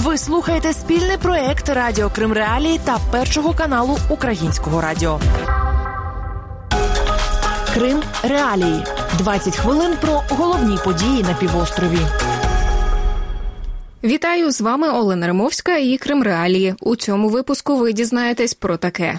Ви слухаєте спільний проєкт Радіо Крим Реалії та Першого каналу Українського радіо. Крим Реалії. 20 хвилин про головні події на півострові. Вітаю, з вами Олена Римовська і Крим Реалії. У цьому випуску ви дізнаєтесь про таке.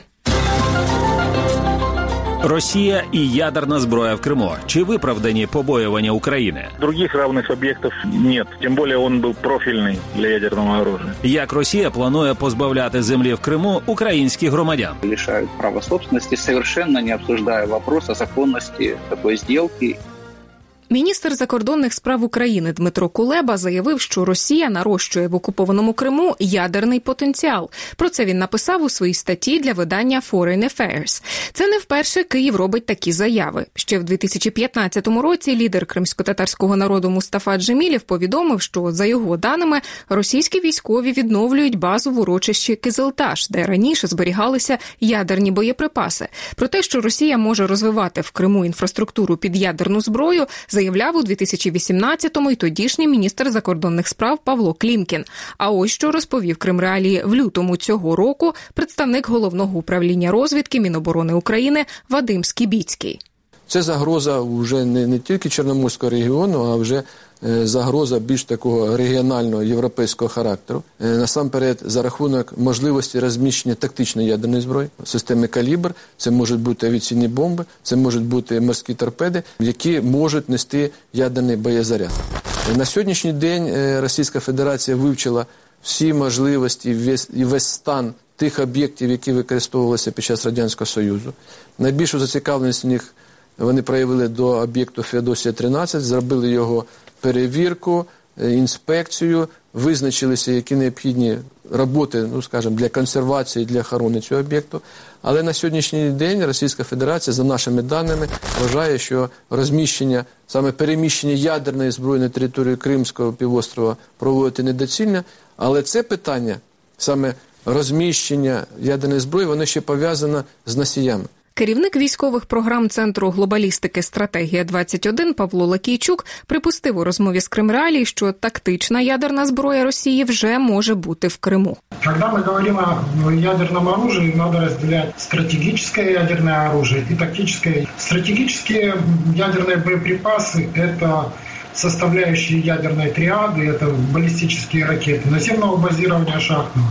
Росія і ядерна зброя в Криму. Чи виправдані побоювання України? Других равных объектов нет. Тем более он был профильный для ядерного оружия. Як Росія планує позбавляти землі в Криму українських громадян? Лишают права собственности, совершенно не обсуждая вопрос о законности такой сделки. Міністр закордонних справ України Дмитро Кулеба заявив, що Росія нарощує в окупованому Криму ядерний потенціал. Про це він написав у своїй статті для видання Foreign Affairs. Це не вперше Київ робить такі заяви. Ще в 2015 році лідер кримсько-татарського народу Мустафа Джемілєв повідомив, що, за його даними, російські військові відновлюють базу в урочищі Кизилташ, де раніше зберігалися ядерні боєприпаси. Про те, що Росія може розвивати в Криму інфраструктуру під ядерну зброю, заявляв у 2018-му й тодішній міністр закордонних справ Павло Клімкін. А ось що розповів Крим Реалії в лютому цього року представник Головного управління розвідки Міноборони України Вадим Скібіцький. Це загроза вже не тільки Чорноморського регіону, а вже загроза більш такого регіонального європейського характеру. Насамперед, за рахунок можливості розміщення тактичної ядерної зброї, системи «Калібр», це можуть бути авіаційні бомби, це можуть бути морські торпеди, які можуть нести ядерний боєзаряд. На сьогоднішній день Російська Федерація вивчила всі можливості і весь стан тих об'єктів, які використовувалися під час Радянського Союзу. Найбільшу зацікавленість в них вони проявили до об'єкту Феодосія-13, зробили його перевірку, інспекцію, визначилися, які необхідні роботи, для консервації, для охорони цього об'єкту. Але на сьогоднішній день Російська Федерація, за нашими даними, вважає, що розміщення, саме переміщення ядерної зброї на територію Кримського півострова проводити недоцільно. Але це питання, саме розміщення ядерної зброї, воно ще пов'язано з носіями. Керівник військових програм Центру глобалістики «Стратегія-21» Павло Лакійчук припустив у розмові з Крим Реалії, що тактична ядерна зброя Росії вже може бути в Криму. Коли ми говоримо о ядерному оружии, треба розділяти стратегічне ядерне оружие і тактичне. Стратегічні ядерні боєприпаси – це составляющие ядерной триады, это баллистические ракеты наземного базирования шахтного,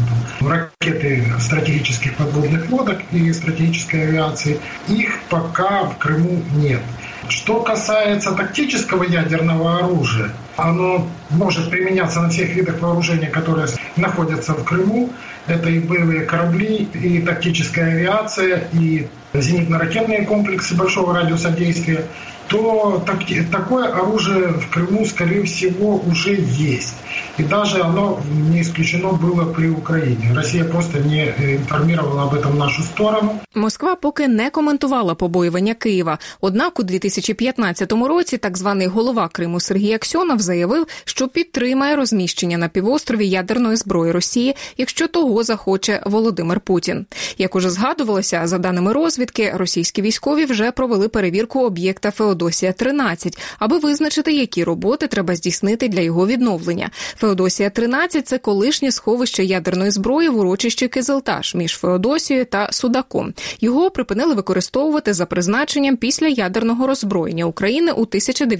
ракеты стратегических подводных лодок и стратегической авиации. Их пока в Крыму нет. Что касается тактического ядерного оружия, оно может применяться на всех видах вооружения, которые находятся в Крыму. Это и боевые корабли, и тактическая авиация, и зенитно-ракетные комплексы большого радиуса действия. То такое оружие в Крыму, скорее всего, уже есть. И даже оно не исключено было при Украине. Россия просто не информировала об этом нашу сторону. Москва поки не коментувала побоювання Києва. Однак у 2015 році так званий голова Криму Сергій Аксьонов заявив, що підтримає розміщення на півострові ядерної зброї Росії, якщо того захоче Володимир Путін. Як уже згадувалося, за даними розвідки, російські військові вже провели перевірку об'єкта Феодосія-13, аби визначити, які роботи треба здійснити для його відновлення. Феодосія-13 – це колишнє сховище ядерної зброї в урочищі Кизилташ між Феодосією та Судаком. Його припинили використовувати за призначенням після ядерного роззброєння України у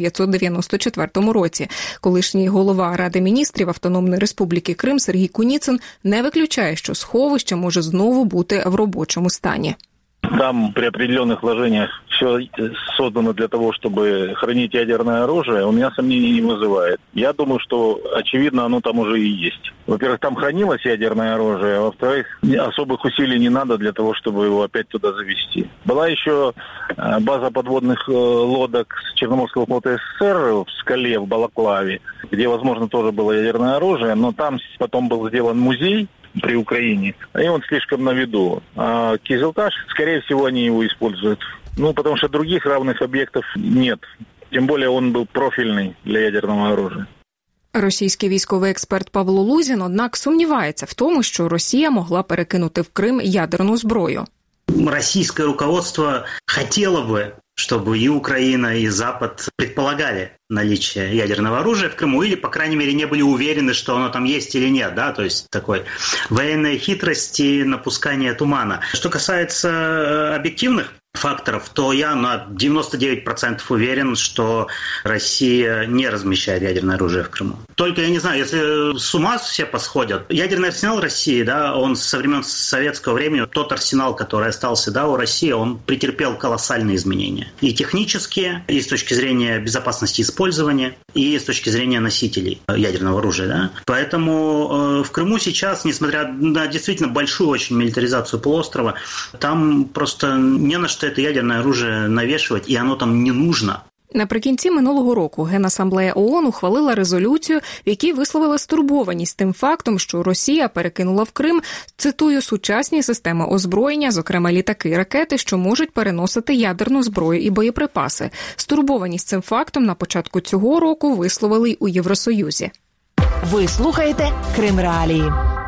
1994 році. Колишній голова Ради міністрів Автономної Республіки Крим Сергій Куніцин не виключає, що сховище може знову бути в робочому стані. Там при определенных вложениях все создано для того, чтобы хранить ядерное оружие, у меня сомнений не вызывает. Я думаю, что, очевидно, оно там уже и есть. Во-первых, там хранилось ядерное оружие, а во-вторых, особых усилий не надо для того, чтобы его опять туда завести. Была еще база подводных лодок Черноморского флота СССР в Скале, в Балаклаве, где, возможно, тоже было ядерное оружие, но там потом был сделан музей при Украине, и он слишком на виду. А Кизилташ, скорее всего, они его используют. Потому что других равных объектов нет. Тем более он был профильный для ядерного оружия. Російський військовий експерт Павло Лузін, однак, сумнівається в тому, що Росія могла перекинути в Крим ядерну зброю. Российское руководство хотело бы, чтобы и Украина, и Запад предполагали наличие ядерного оружия в Крыму или, по крайней мере, не были уверены, что оно там есть или нет, да, то есть такой военной хитрости, напускания тумана. Что касается объективных факторов, то я на 99% уверен, что Россия не размещает ядерное оружие в Крыму. Только, я не знаю, если с ума все посходят, ядерный арсенал России, да, он со времен советского времени, тот арсенал, который остался, да, у России, он претерпел колоссальные изменения. И технические, и с точки зрения безопасности использования, и с точки зрения носителей ядерного оружия, да. Поэтому в Крыму сейчас, несмотря на действительно большую очень милитаризацию полуострова, там просто не на что это ядерне оружие навішувати, і воно там не нужно. Наприкінці минулого року Генасамблея ООН ухвалила резолюцію, в якій висловила стурбованість тим фактом, що Росія перекинула в Крим, цитую, сучасні системи озброєння, зокрема літаки і ракети, що можуть переносити ядерну зброю і боєприпаси. Стурбованість цим фактом на початку цього року висловили й у Євросоюзі. Ви слухаєте Крим Реалії.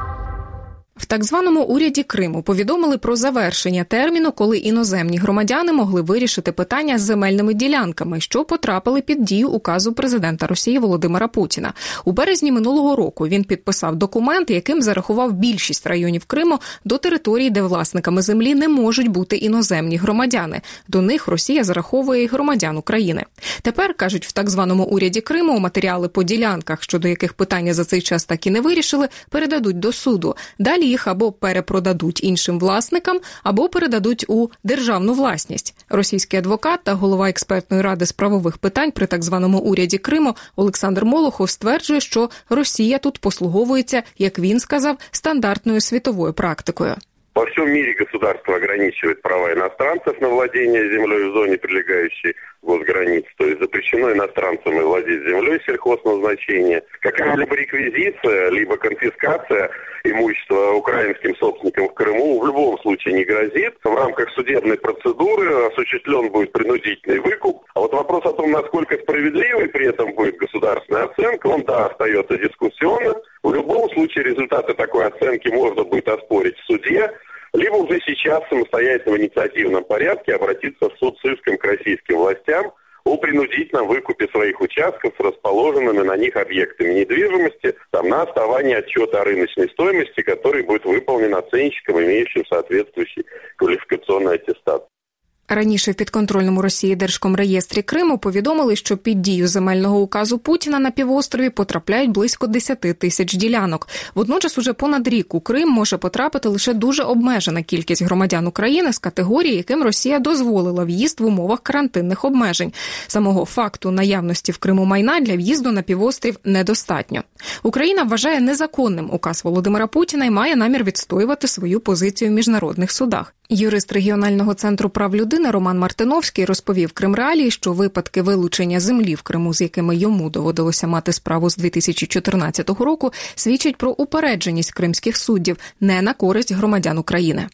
В так званому уряді Криму повідомили про завершення терміну, коли іноземні громадяни могли вирішити питання з земельними ділянками, що потрапили під дію указу президента Росії Володимира Путіна. У березні минулого року він підписав документ, яким зарахував більшість районів Криму до територій, де власниками землі не можуть бути іноземні громадяни. До них Росія зараховує і громадян України. Тепер, кажуть, в так званому уряді Криму матеріали по ділянках, щодо яких питання за цей час так і не вирішили, передадуть до суду. Далі їх або перепродадуть іншим власникам, або передадуть у державну власність. Російський адвокат та голова експертної ради з правових питань при так званому уряді Криму Олександр Молохов стверджує, що Росія тут послуговується, як він сказав, стандартною світовою практикою. Во всем мире государство ограничивает права иностранцев на владение землей в зоне, прилегающей к госгранице. То есть запрещено иностранцам владеть землей сельхозназначения. Какая-либо реквизиция, либо конфискация имущества украинским собственникам в Крыму в любом случае не грозит. В рамках судебной процедуры осуществлен будет принудительный выкуп. А вот вопрос о том, насколько справедливой при этом будет государственная оценка, он, да, остается дискуссионным. В любом случае результаты такой оценки можно будет оспорить в суде, либо уже сейчас самостоятельно в инициативном порядке обратиться в суд с иском к российским властям о принудительном выкупе своих участков с расположенными на них объектами недвижимости там, на основании отчета о рыночной стоимости, который будет выполнен оценщиком, имеющим соответствующий квалификационный аттестат. Раніше в підконтрольному Росії Держкомреєстрі Криму повідомили, що під дію земельного указу Путіна на півострові потрапляють близько 10 тисяч ділянок. Водночас уже понад рік у Крим може потрапити лише дуже обмежена кількість громадян України з категорії, яким Росія дозволила в'їзд в умовах карантинних обмежень. Самого факту наявності в Криму майна для в'їзду на півострів недостатньо. Україна вважає незаконним указ Володимира Путіна і має намір відстоювати свою позицію в міжнародних судах. Юрист регіонального центру прав людини Роман Мартиновський розповів Крим Реалії, що випадки вилучення землі в Криму, з якими йому доводилося мати справу з 2014 року, свідчать про упередженість кримських суддів не на користь громадян України.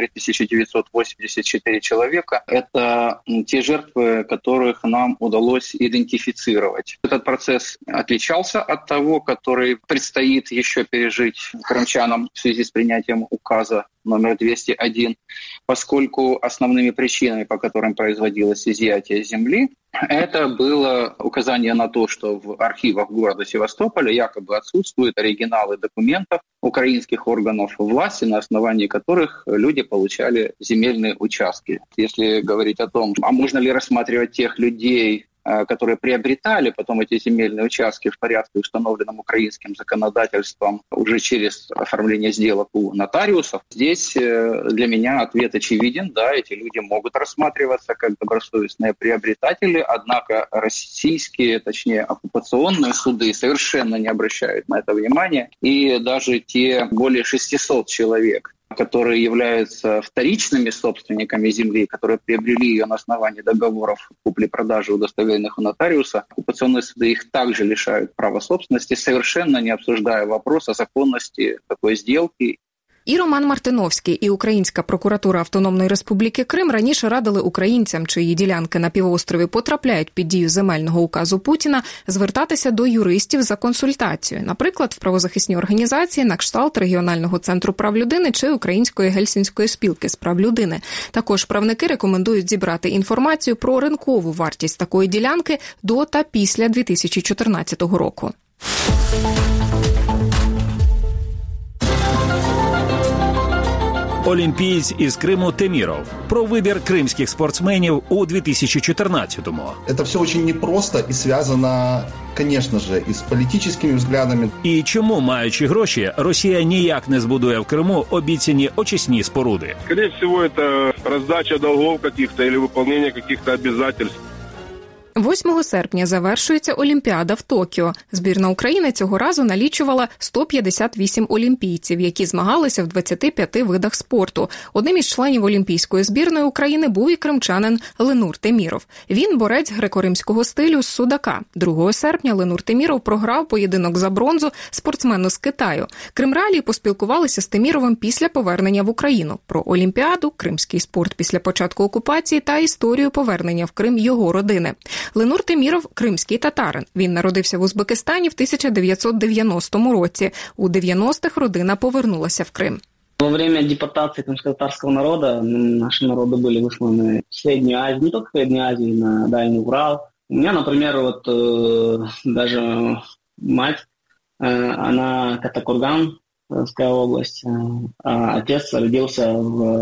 3984 человека – это те жертвы, которых нам удалось идентифицировать. Этот процесс отличался от того, который предстоит еще пережить крымчанам в связи с принятием указа номер 201, поскольку основными причинами, по которым производилось изъятие земли, это было указание на то, что в архивах города Севастополя якобы отсутствуют оригиналы документов украинских органов власти, на основании которых люди получали земельные участки. Если говорить о том, а можно ли рассматривать тех людей, которые приобретали потом эти земельные участки в порядке, установленном украинским законодательством, уже через оформление сделок у нотариусов. Здесь для меня ответ очевиден. Да, эти люди могут рассматриваться как добросовестные приобретатели, однако российские, точнее оккупационные суды совершенно не обращают на это внимания. И даже те более 600 человек, которые являются вторичными собственниками земли, которые приобрели ее на основании договоров купли-продажи, удостоверенных у нотариуса, оккупационные суды их также лишают права собственности, совершенно не обсуждая вопрос о законности такой сделки. І Роман Мартиновський, і Українська прокуратура Автономної Республіки Крим раніше радили українцям, чиї ділянки на півострові потрапляють під дію земельного указу Путіна, звертатися до юристів за консультацією, наприклад, в правозахисні організації на кшталт Регіонального центру прав людини чи Української Гельсінської спілки з прав людини. Також правники рекомендують зібрати інформацію про ринкову вартість такої ділянки до та після 2014 року. Олімпієць із Криму Теміров. Про вибір кримських спортсменів у 2014-му. Это все очень непросто и связано, конечно же, и с политическими взглядами. І чому, маючи гроші, Росія ніяк не збудує в Криму обіцяні очисні споруди? Скорее всего, это раздача долгов каких-то или выполнение каких-то обязательств. 8 серпня завершується Олімпіада в Токіо. Збірна України цього разу налічувала 158 олімпійців, які змагалися в 25 видах спорту. Одним із членів олімпійської збірної України був і кримчанин Ленур Теміров. Він борець греко-римського стилю з судака. 2 серпня Ленур Теміров програв поєдинок за бронзу спортсмену з Китаю. Кримреалії поспілкувалися з Теміровим після повернення в Україну. Про Олімпіаду, кримський спорт після початку окупації та історію повернення в Крим його родини. Ленур Теміров – кримський татарин. Він народився в Узбекистані в 1990 році. У 90-х родина повернулася в Крим. Во время депортации крымско-татарского народа наши народы были высланы в Среднюю Азию, не только в Среднюю Азию, на Дальний Урал. У меня, например, даже мать, она Катакурганская область, а отец родился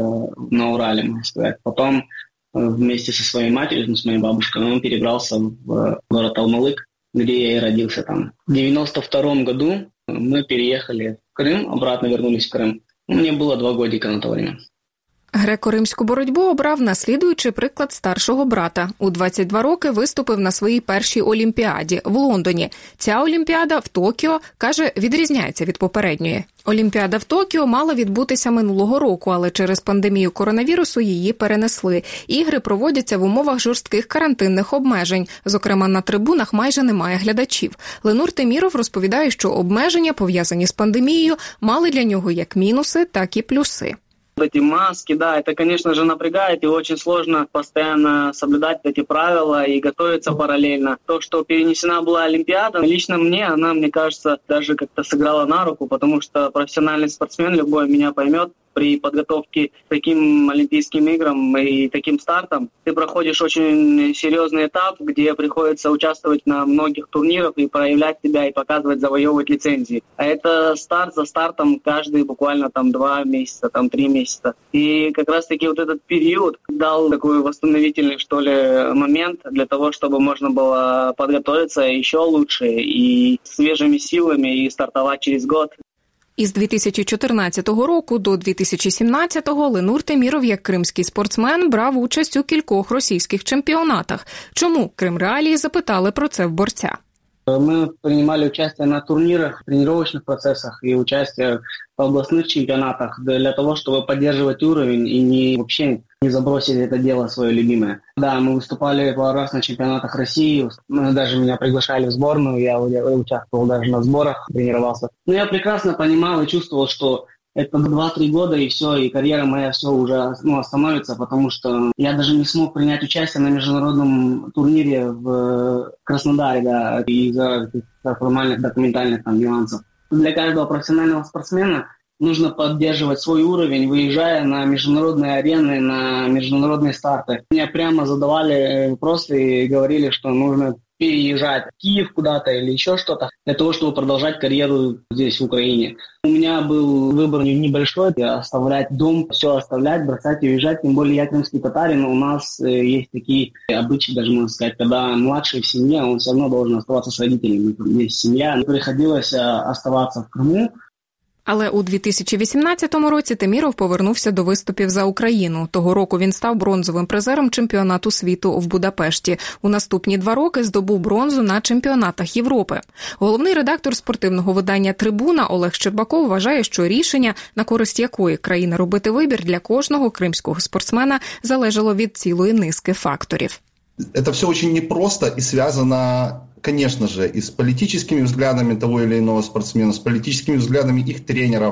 на Урале, можно сказать. Потом вместе со своей матерью, с моей бабушкой, он перебрался в город Алмалык, где я и родился там. В 92 году мы переехали в Крым, обратно вернулись в Крым. Мне было 2 годика на то время. Греко-римську боротьбу обрав, наслідуючи приклад старшого брата. У 22 роки виступив на своїй першій Олімпіаді в Лондоні. Ця Олімпіада в Токіо, каже, відрізняється від попередньої. Олімпіада в Токіо мала відбутися минулого року, але через пандемію коронавірусу її перенесли. Ігри проводяться в умовах жорстких карантинних обмежень. Зокрема, на трибунах майже немає глядачів. Ленур Теміров розповідає, що обмеження, пов'язані з пандемією, мали для нього як мінуси, так і плюси. Эти маски, да, это, конечно же, напрягает, и очень сложно постоянно соблюдать эти правила и готовиться параллельно. То, что перенесена была Олимпиада, лично мне кажется, даже как-то сыграла на руку, потому что профессиональный спортсмен, любой меня поймет, при подготовке к таким Олимпийским играм и таким стартам ты проходишь очень серьезный этап, где приходится участвовать на многих турнирах и проявлять себя, и показывать, завоевывать лицензии. А это старт за стартом каждый буквально 2 месяца, 3 месяца. И как раз-таки вот этот период дал такой восстановительный, что ли, момент для того, чтобы можно было подготовиться еще лучше и свежими силами и стартовать через год. Із 2014 року до 2017-го Ленур Теміров, як кримський спортсмен, брав участь у кількох російських чемпіонатах. Чому? Кримреалії запитали про це в борця. Мы принимали участие на турнирах, тренировочных процессах и участие в областных чемпионатах для того, чтобы поддерживать уровень и вообще не забросить это дело свое любимое. Да, мы выступали пару раз на чемпионатах России, даже меня приглашали в сборную, я участвовал даже на сборах, тренировался. Но я прекрасно понимал и чувствовал, что это 2-3 года, и все, и карьера моя все уже остановится, потому что я даже не смог принять участие на международном турнире в Краснодаре, да, из-за формальных документальных нюансов. Для каждого профессионального спортсмена нужно поддерживать свой уровень, выезжая на международные арены, на международные старты. Мне прямо задавали вопросы и говорили, что нужно переезжать в Киев куда-то или еще что-то для того, чтобы продолжать карьеру здесь, в Украине. У меня был выбор небольшой, оставлять дом, все оставлять, бросать и уезжать. Тем более я крымский татарин, у нас есть такие обычаи, даже можно сказать, когда младший в семье, он все равно должен оставаться с родителями. Здесь семья, приходилось оставаться в Крыму. Але у 2018 році Теміров повернувся до виступів за Україну. Того року він став бронзовим призером чемпіонату світу в Будапешті. У наступні 2 роки здобув бронзу на чемпіонатах Європи. Головний редактор спортивного видання «Трибуна» Олег Щербаков вважає, що рішення, на користь якої країни робити вибір для кожного кримського спортсмена, залежало від цілої низки факторів. Это все очень непросто и связано, конечно же, и с политическими взглядами того или иного спортсмена, с политическими взглядами их тренеров,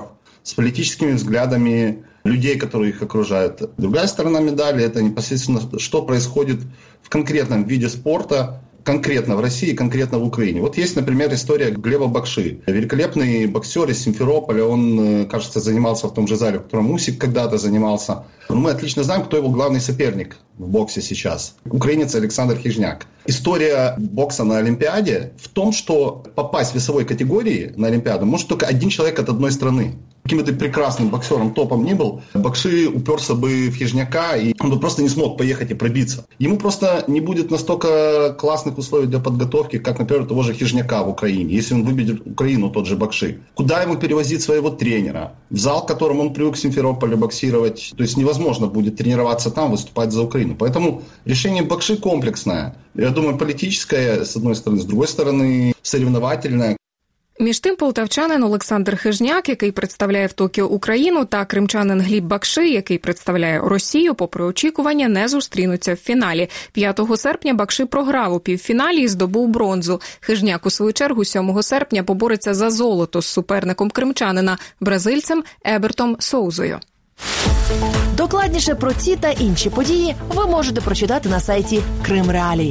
с политическими взглядами людей, которые их окружают. Другая сторона медали – это непосредственно, что происходит в конкретном виде спорта, конкретно в России, конкретно в Украине. Вот есть, например, история Глеба Бакши. Великолепный боксер из Симферополя. Он, кажется, занимался в том же зале, в котором Усик когда-то занимался. Но мы отлично знаем, кто его главный соперник в боксе сейчас. Украинец Александр Хижняк. История бокса на Олимпиаде в том, что попасть в весовой категории на Олимпиаду может только один человек от одной страны. Каким бы ты прекрасным боксером, топом ни был, Бакши уперся бы в Хижняка, и он бы просто не смог поехать и пробиться. Ему просто не будет настолько классных условий для подготовки, как, например, того же Хижняка в Украине, если он выберет Украину, тот же Бакши. Куда ему перевозить своего тренера? В зал, в котором он привык в Симферополе боксировать. То есть невозможно будет тренироваться там, выступать за Украину. Поэтому решение Бакши комплексное. Я думаю, политическое, с одной стороны, с другой стороны, соревновательное. Між тим, полтавчанин Олександр Хижняк, який представляє в Токіо Україну, та кримчанин Гліб Бакши, який представляє Росію, попри очікування, не зустрінуться в фіналі. 5 серпня Бакши програв у півфіналі і здобув бронзу. Хижняк, у свою чергу, 7 серпня побореться за золото з суперником кримчанина, бразильцем Ебертом Соузою. Докладніше про ці та інші події ви можете прочитати на сайті Крим Реалії.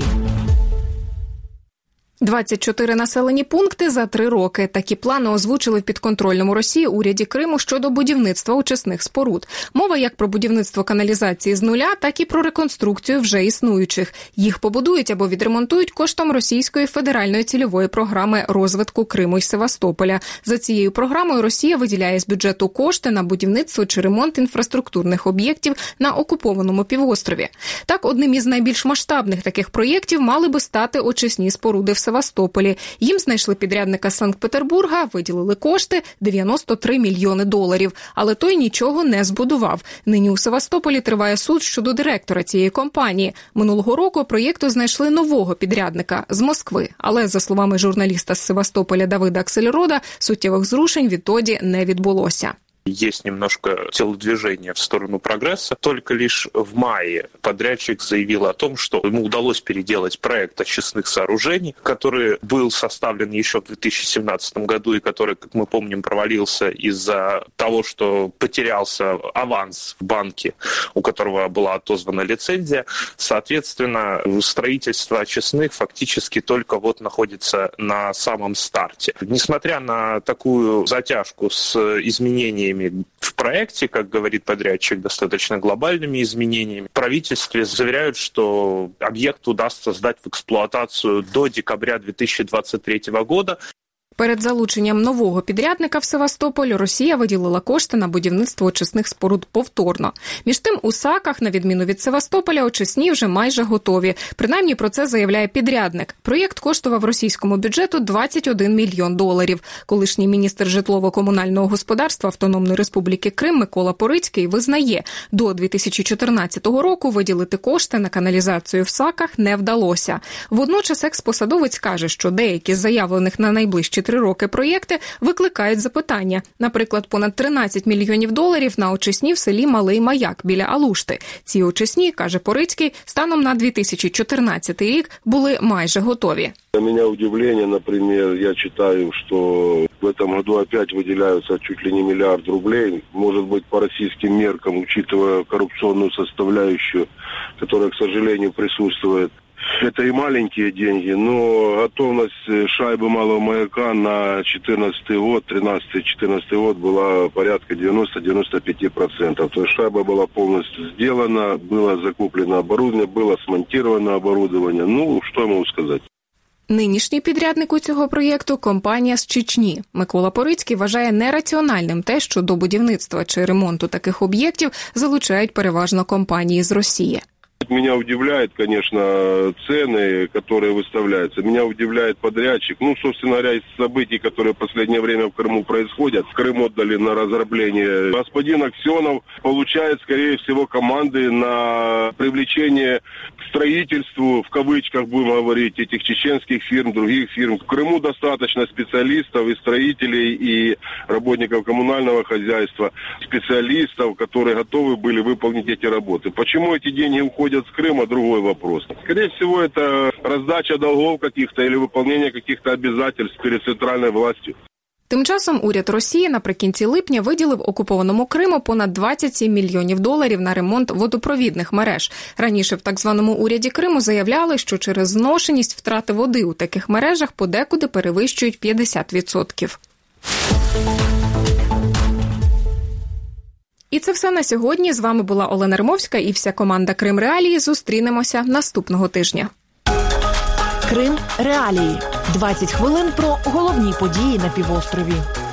24 населені пункти за 3 роки. Такі плани озвучили в підконтрольному Росії уряді Криму щодо будівництва очисних споруд. Мова як про будівництво каналізації з нуля, так і про реконструкцію вже існуючих. Їх побудують або відремонтують коштом Російської федеральної цільової програми розвитку Криму і Севастополя. За цією програмою Росія виділяє з бюджету кошти на будівництво чи ремонт інфраструктурних об'єктів на окупованому півострові. Так, одним із найбільш масштабних таких проєктів мали би стати очисні споруди в Севастополі. Їм знайшли підрядника з Санкт-Петербурга, виділили кошти – $93 мільйони. Але той нічого не збудував. Нині у Севастополі триває суд щодо директора цієї компанії. Минулого року проєкту знайшли нового підрядника з Москви. Але, за словами журналіста з Севастополя Давида Аксельрода, суттєвих зрушень відтоді не відбулося. Есть немножко телодвижения в сторону прогресса. Только лишь в мае подрядчик заявил о том, что ему удалось переделать проект очистных сооружений, который был составлен еще в 2017 году и который, как мы помним, провалился из-за того, что потерялся аванс в банке, у которого была отозвана лицензия. Соответственно, строительство очистных фактически только вот находится на самом старте. Несмотря на такую затяжку с изменениями в проекте, как говорит подрядчик, достаточно глобальными изменениями, в правительстве заверяют, что объект удастся сдать в эксплуатацию до декабря 2023 года. Перед залученням нового підрядника в Севастополь Росія виділила кошти на будівництво очисних споруд повторно. Між тим, у Саках, на відміну від Севастополя, очисні вже майже готові. Принаймні про це заявляє підрядник. Проєкт коштував російському бюджету $21 мільйон. Колишній міністр житлово-комунального господарства Автономної Республіки Крим Микола Порицький визнає, до 2014 року виділити кошти на каналізацію в Саках не вдалося. Водночас експосадовець каже, що деякі з заявлених на найближчі 3 роки проєкти викликають запитання. Наприклад, понад $13 мільйонів на очисні в селі Малий Маяк біля Алушти. Ці очисні, каже Порицький, станом на 2014 рік були майже готові. Для меня удивление, например, я читаю, что в этом году опять выделяются чуть ли не $1 миллиард. Может быть, по российским меркам, учитывая коррупционную составляющую, которая, к сожалению, присутствует. Это и маленькие деньги, но готовность шайбы Малого Маяка на 2014 год, 13-14 год была порядка 90-95%. То есть шайба была полностью сделана, было закуплено оборудование, было смонтировано оборудование. Ну, что я могу сказать? Нинішній підрядник у цього проєкту – компанія з Чечні. Микола Порицький вважає нераціональним те, що до будівництва чи ремонту таких об'єктів залучають переважно компанії з Росії. Меня удивляют, конечно, цены, которые выставляются. Меня удивляет подрядчик. Ну, собственно говоря, из событий, которые в последнее время в Крыму происходят, Крым отдали на разработание. Господин Аксенов получает, скорее всего, команды на привлечение к строительству, в кавычках будем говорить, этих чеченских фирм, других фирм. В Крыму достаточно специалистов и строителей, и работников коммунального хозяйства, специалистов, которые готовы были выполнить эти работы. Почему эти деньги уходят с Крыма, другой вопрос. Скорее всего, это раздача долгов каких-то или выполнение каких-то обязательств перед центральной властью. Тим часом уряд Росії наприкінці липня виділив окупованому Криму понад 27 мільйонів доларів на ремонт водопровідних мереж. Раніше в так званому уряді Криму заявляли, що через зношеність втрати води у таких мережах подекуди перевищують 50%. І це все на сьогодні. З вами була Олена Римовська і вся команда Крим Реалії. Зустрінемося наступного тижня. Крим Реалії. 20 хвилин про головні події на півострові.